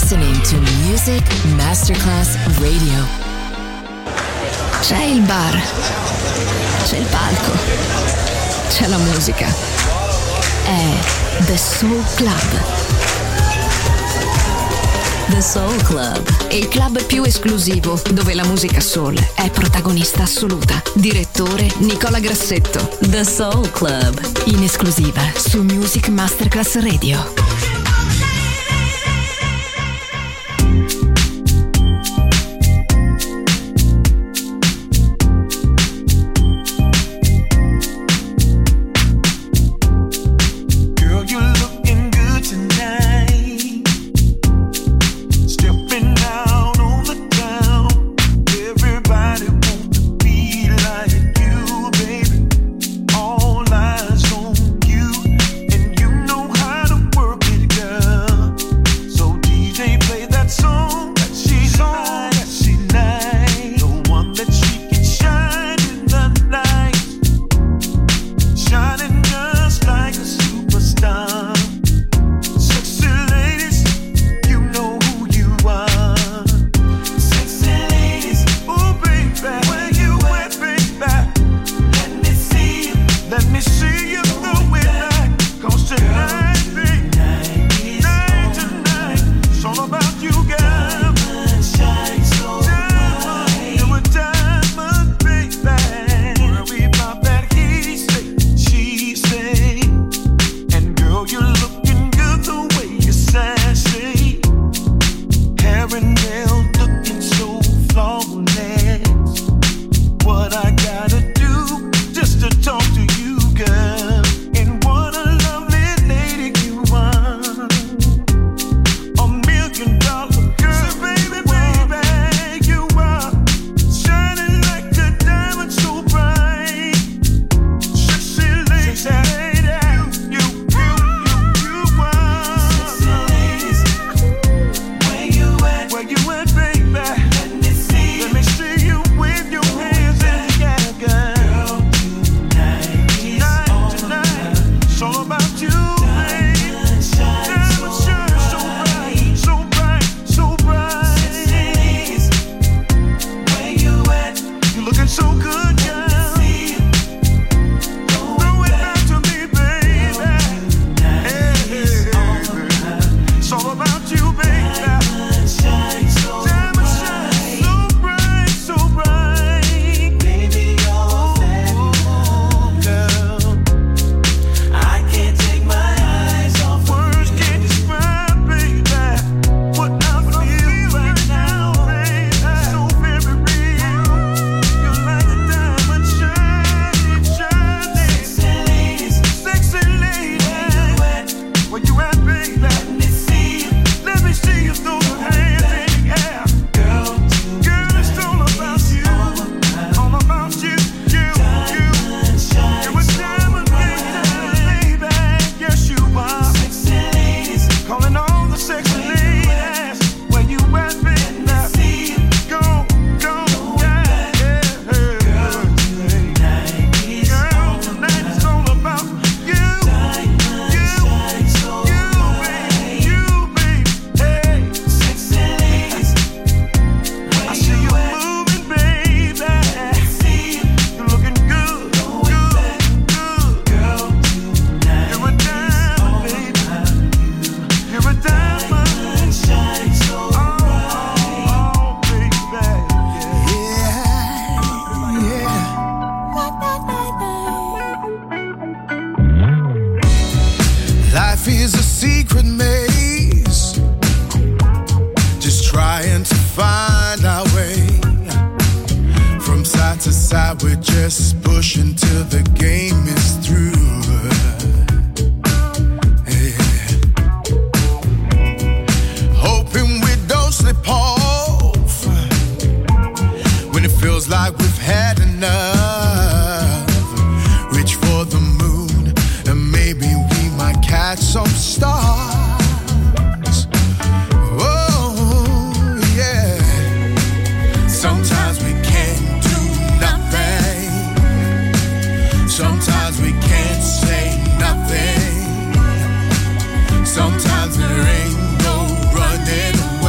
listening to Music Masterclass Radio. C'è il bar, c'è il palco, c'è la musica. È The Soul Club. The Soul Club, il club più esclusivo dove la musica soul è protagonista assoluta. Direttore Nicola Grassetto. The Soul Club, in esclusiva su Music Masterclass Radio. Sometimes there ain't no running away.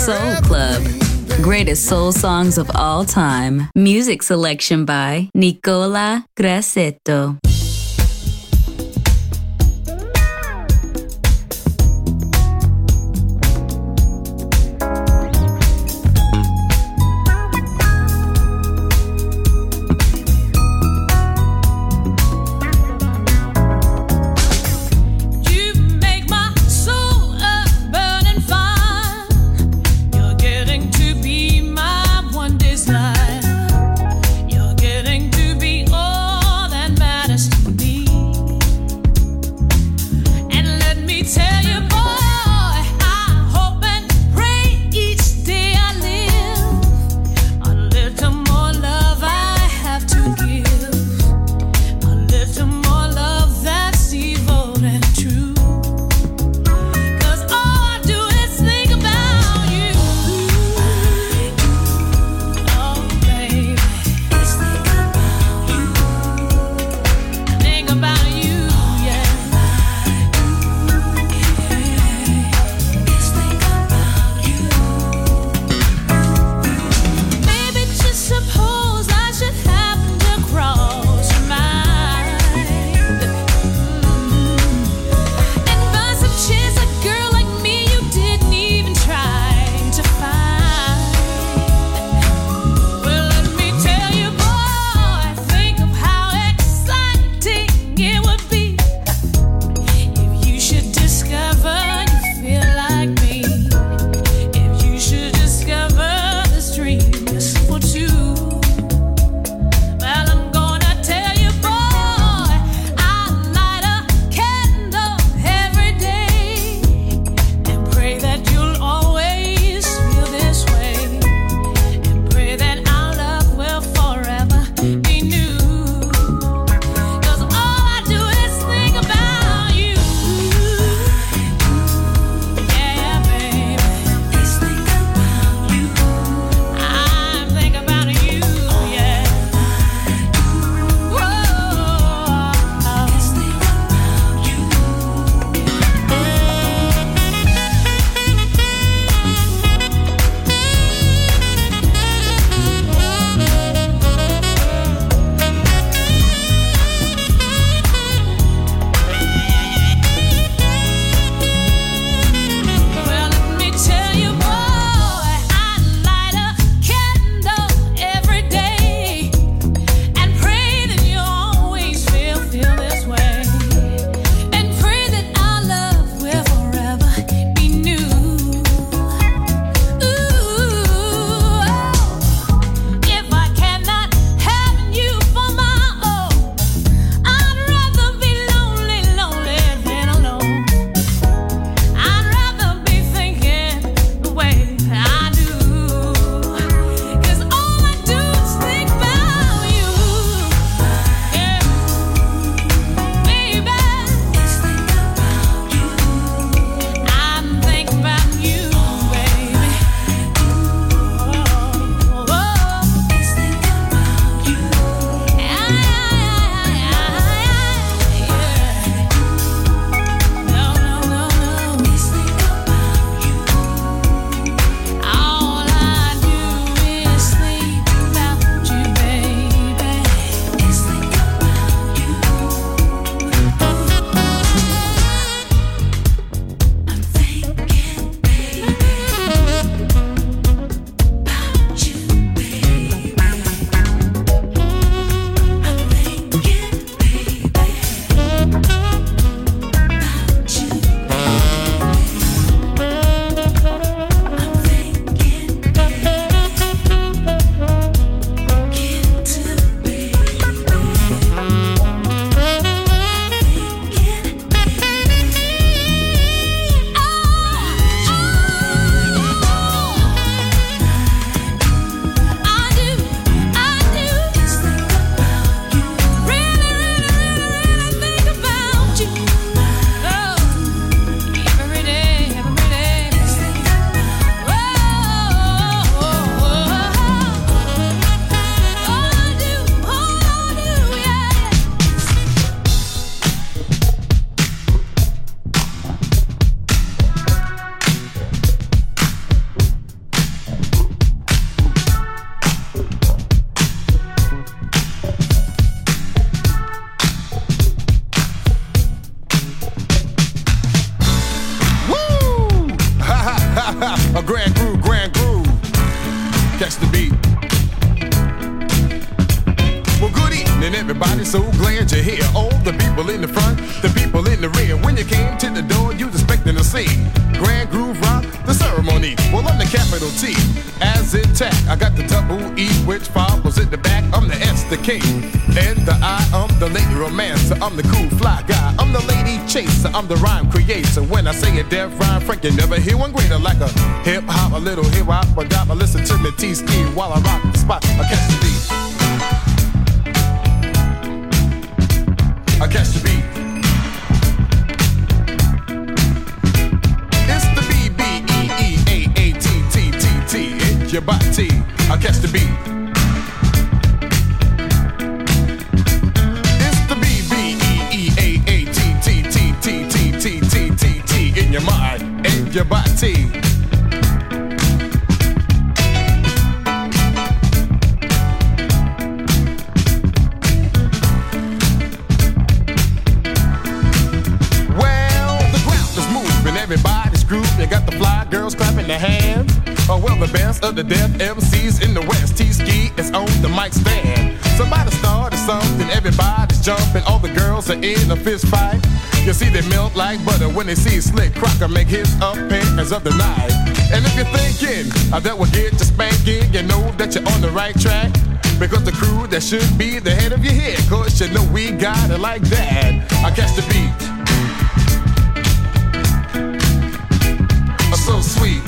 Soul Club. Greatest soul songs of all time. Music selection by Nicola Grassetto. You're getting to be all that matters. here. All the people in the front, the people in the rear. When you came to the door, you was expecting to see Grand Groove Rock, the ceremony. Well, I'm the capital T, as intact. I got the double E, which follows at the back. I'm the S, the K, and the I. I'm the lady romancer. I'm the cool fly guy. I'm the lady chaser. I'm the rhyme creator. When I say a deaf rhyme, Frank, you never hear one greater. Like a hip hop, a little hip hop, a dop. I listen to me T-Ski while I rock the spot. I catch the beat. I catch the beat. It's the B-B-E-E-A-A-T-T-T-T. It's your body. I catch the beat. It's the B-B-E-E-A-A-T-T-T-T-T-T-T in your mind and your body. Everybody's groove, you got the fly girls clapping their hands. Oh well, the best of the deaf MCs in the West. T-Ski is on the mic stand. Somebody started something, everybody's jumping. All the girls are in a fist fight. You see they melt like butter when they see Slick Crocker make his appearance of the night. And if you're thinking that will get you spanking, you know that you're on the right track. Because the crew that should be the head of your head, cause you know we got it like that. I catch the beat. So sweet.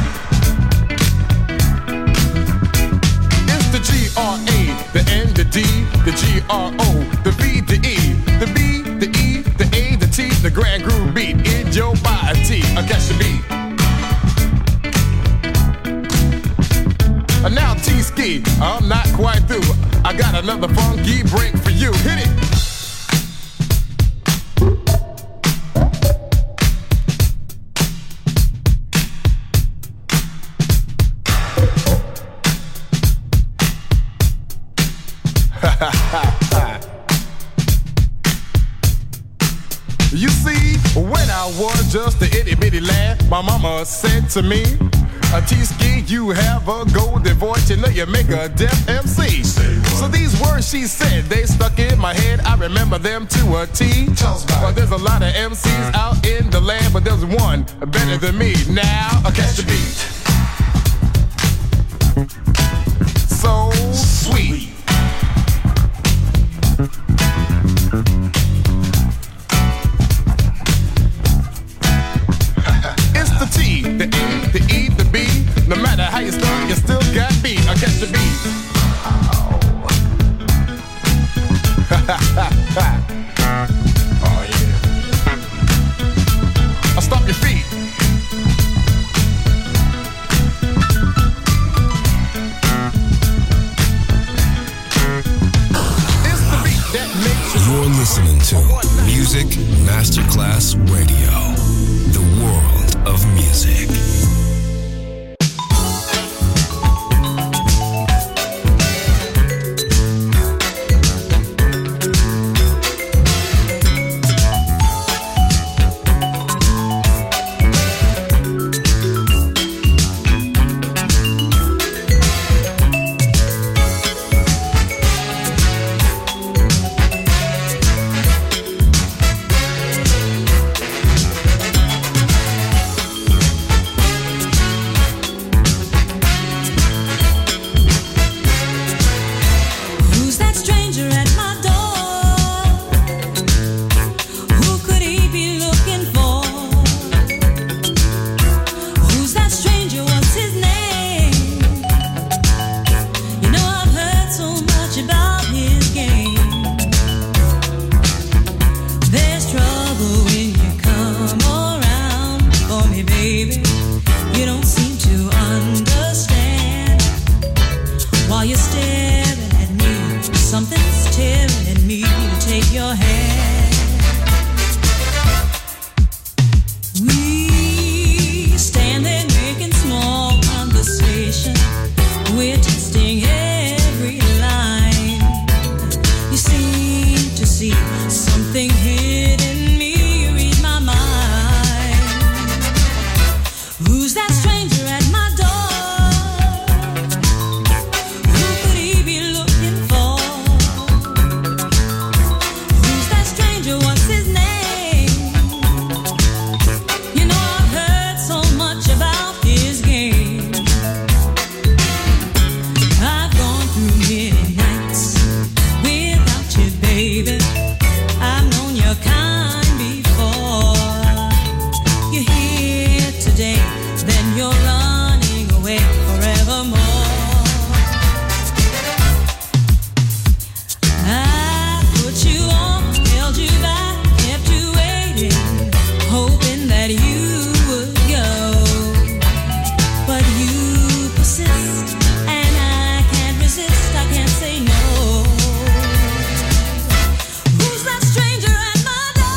It's the G-R-A, the N, the D, the G-R-O, the V, the E, the B, the E, the A, the T, the Grand Groove beat in your body. I catch the beat. And now T-Ski, I'm not quite through. I got another funky break for you. Hit it. You see, when I was just a itty bitty lad, my mama said to me, T-Ski, you have a golden voice, you know you make a deaf MC. So these words she said, they stuck in my head, I remember them to a T. Well, there's a lot of MCs out in the land, but there's one better than me. Now, I catch the beat. So sweet. It's the T, the A, the E, the B. No matter how you start, you still got beat. I catch the beat. Oh yeah. I'll stop your feet. It's the beat that makes you. You're listening to Music Masterclass Radio, the world of music. Who's baby. I've known your kind before. You're here today, then you're running away forevermore. I put you on, held you back, kept you waiting, hoping that you would go. But you persist, and I can't resist, I can't say no. Who's that stranger at my door?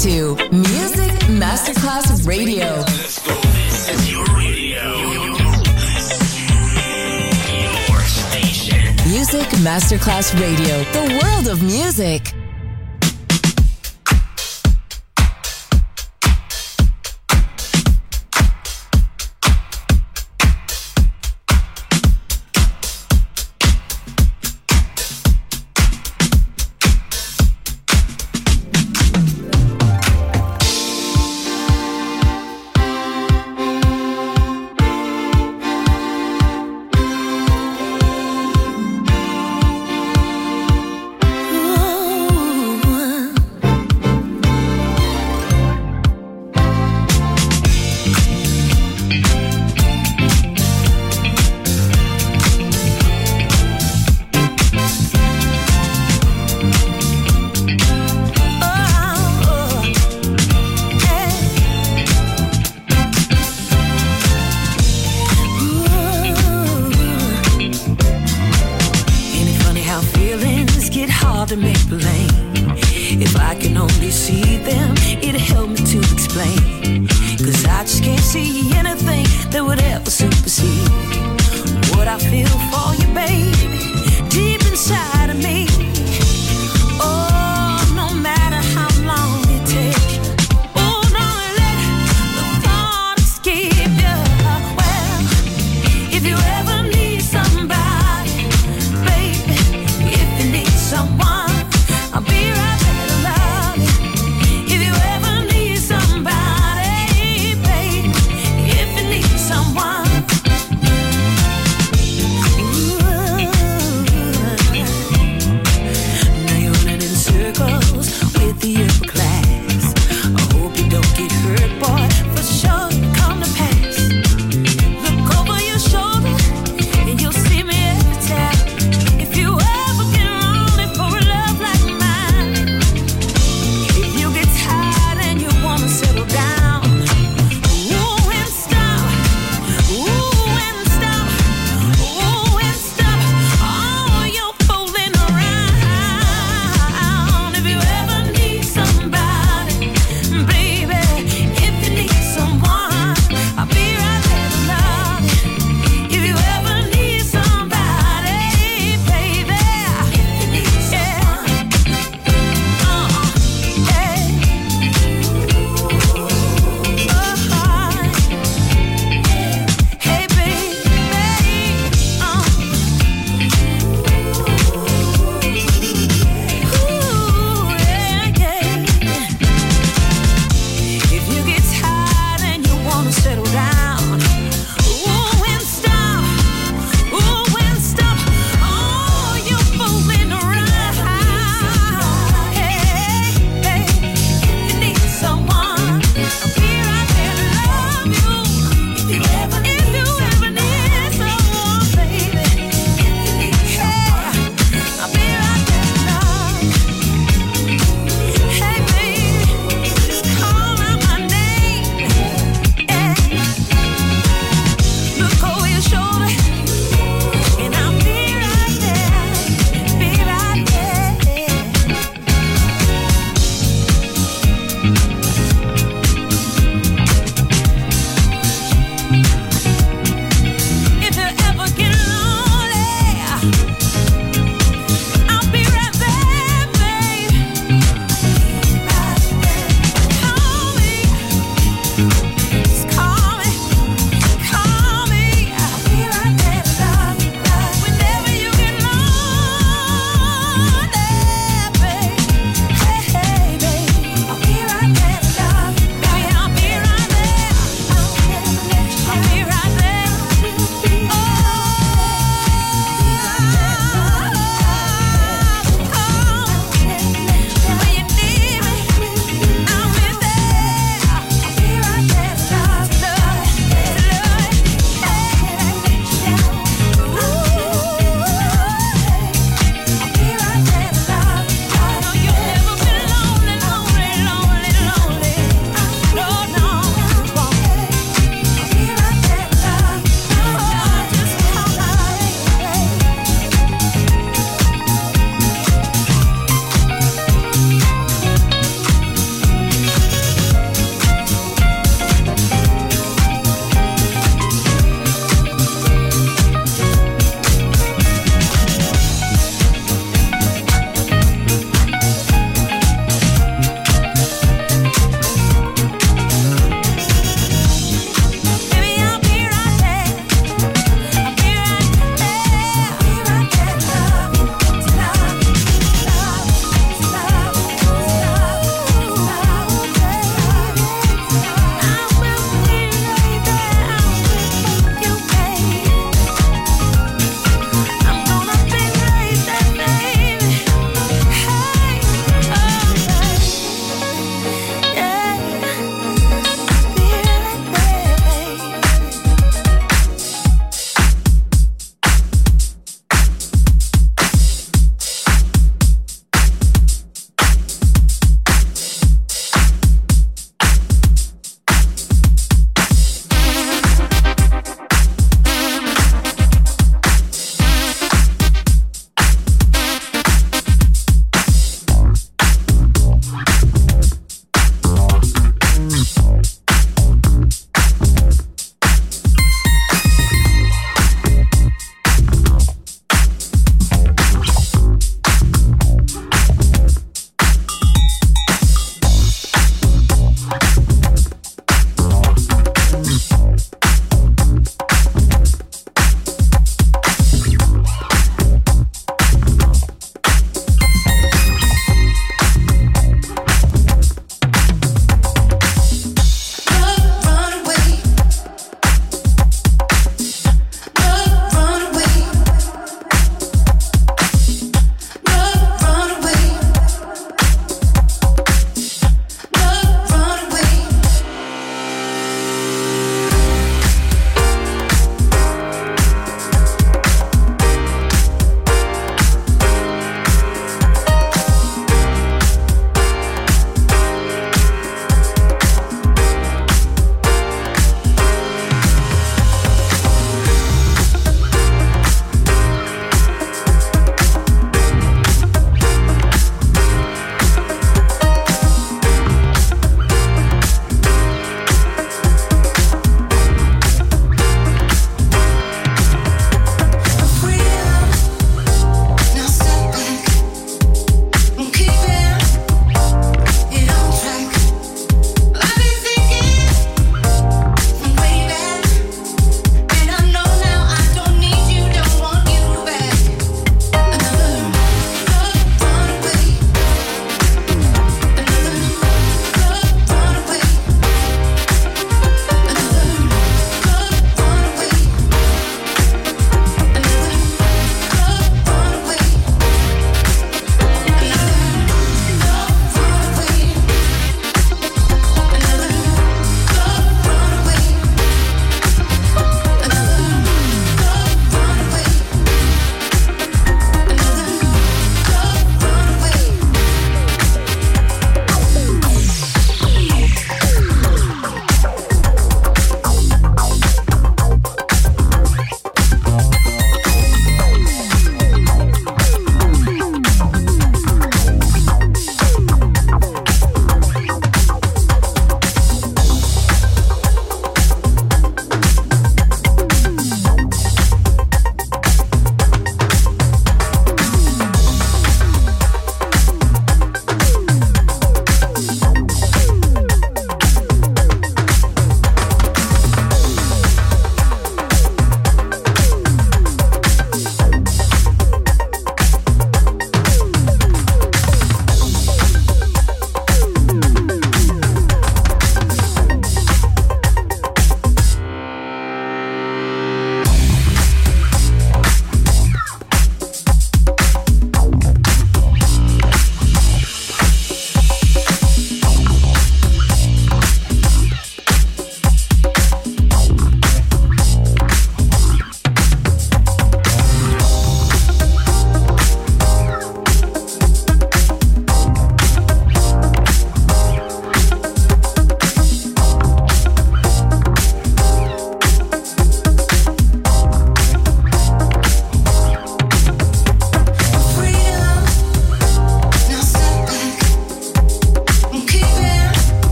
to Music Masterclass Radio. Let's go. This is your radio. Your station. Music Masterclass Radio. The world of music. Shoulder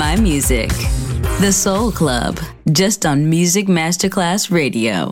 all-time music. The Soul Club, just on Music Masterclass Radio.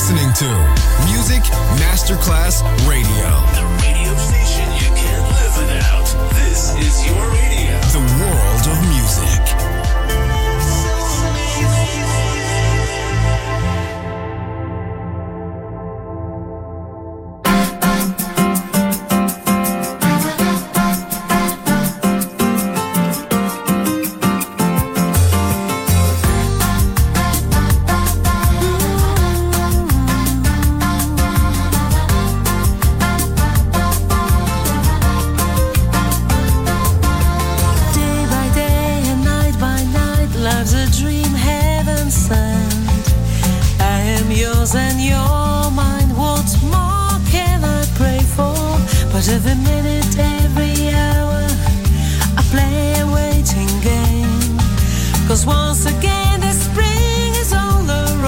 listening to Music Masterclass Radio. The radio station you can't live without. This is your radio. The world of music. Every minute, every hour, I play a waiting game. 'Cause once again the spring is all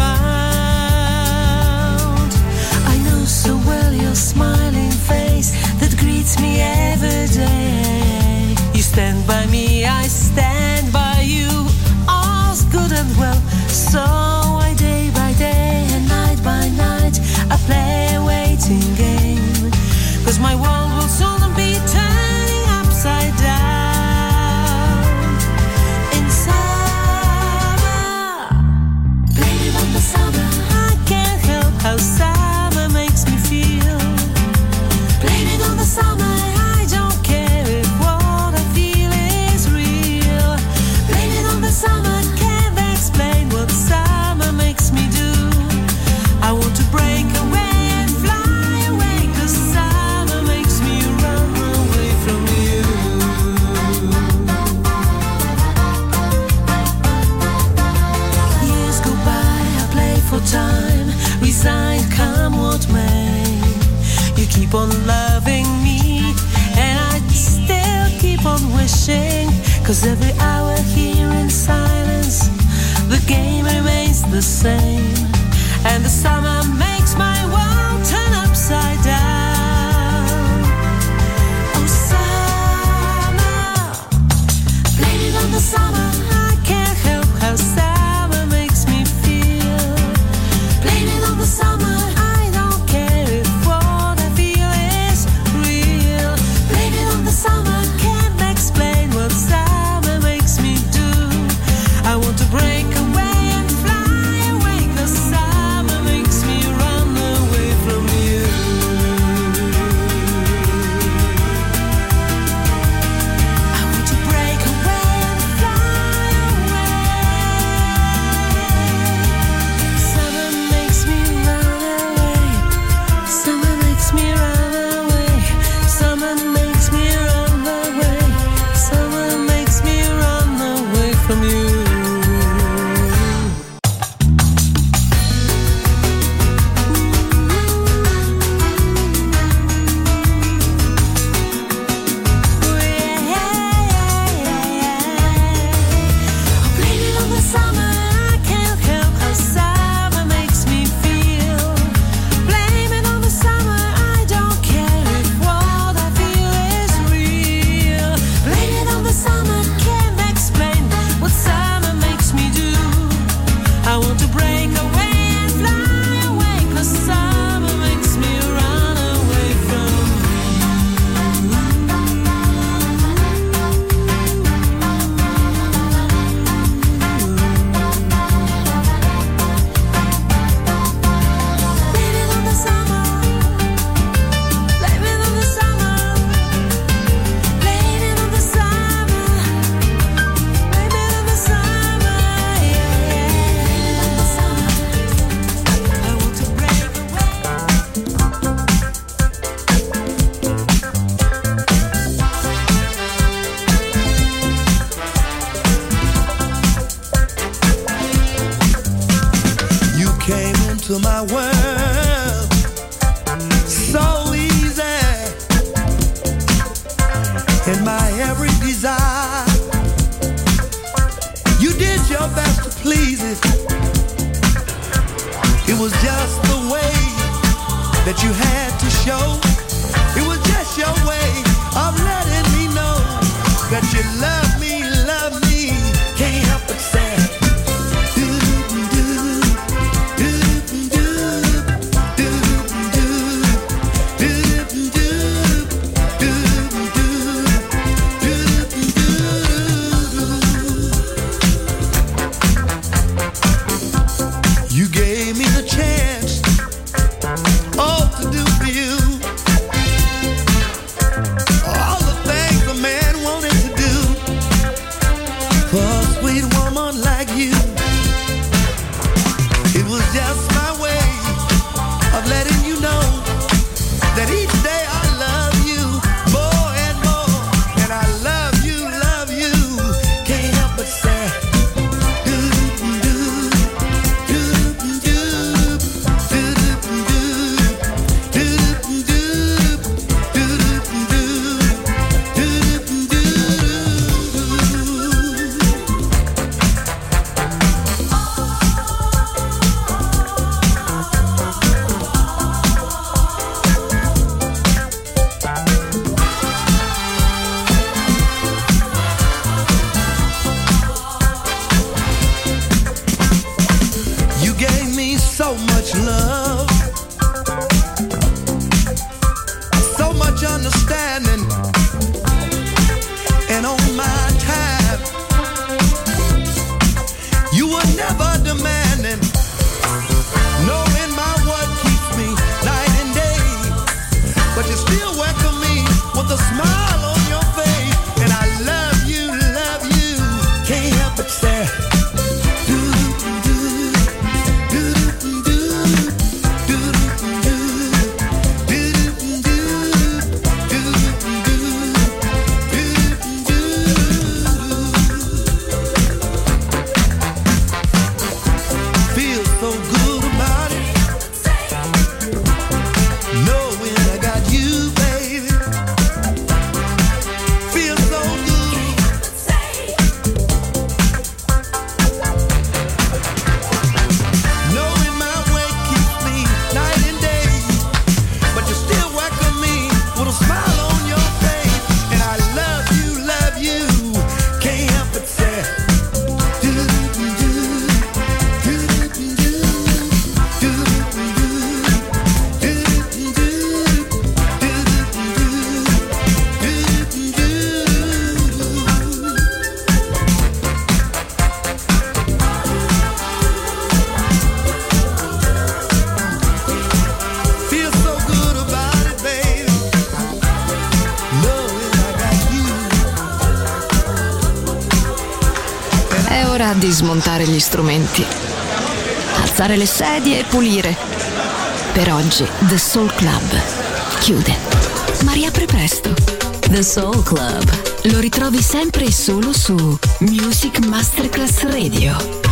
around. I know so well your smiling face that greets me every day. You stand by me, I stand by you, all's good and well. So I day by day and night by night I play a waiting game. 'Cause my world will soon be turning upside down. In summer, blame it on the summer. I can't help how summer makes me feel. Blame it on the summer. I don't care if what I feel is real. Blame it on the summer. Can't explain what summer makes me do. I want to break away. Time, resigned, come what may. You keep on loving me, and I still keep on wishing. 'Cause every hour here in silence, the game remains the same. And the summer makes my world turn upside down. Oh summer, blame it on the summer. I can't help how summer makes me feel. Blame it on the summer. I don't care if what I feel is real. Blame it on the summer. Can't explain what summer makes me do. I want to break away and fly away. 'Cause summer makes me run away from you. I want to break away and fly away. Summer makes me run away. Summer makes me run away. Summer makes me run away. Summer makes me run away from you. Blame it on the summer. I can't help how summer makes me feel. Blame it on the summer. I don't care if what I feel is real. Blame it on the summer. Can't explain what summer makes me do. I want to break away and fly away. 'Cause summer makes me run away from Blame it on the summer. Blame it on the summer. Blame it on the summer. Blame it on the summer. Yeah. Blame it on the summer. I want to break away. You came into my world so easy, in my every desire. You did your best to please it. It was just the way that you had to show. It was just your way of letting me know that you love me, can't help but say, do, do, do, do. much love, so much understanding, and on my time, you were never demanding, knowing my what keeps me night and day, but you still welcome me with a smile on your face, and I love you, can't help but stare. Di smontare gli strumenti, alzare le sedie e pulire. Per oggi The Soul Club chiude, ma riapre presto. The Soul Club lo ritrovi sempre e solo su Music Masterclass Radio.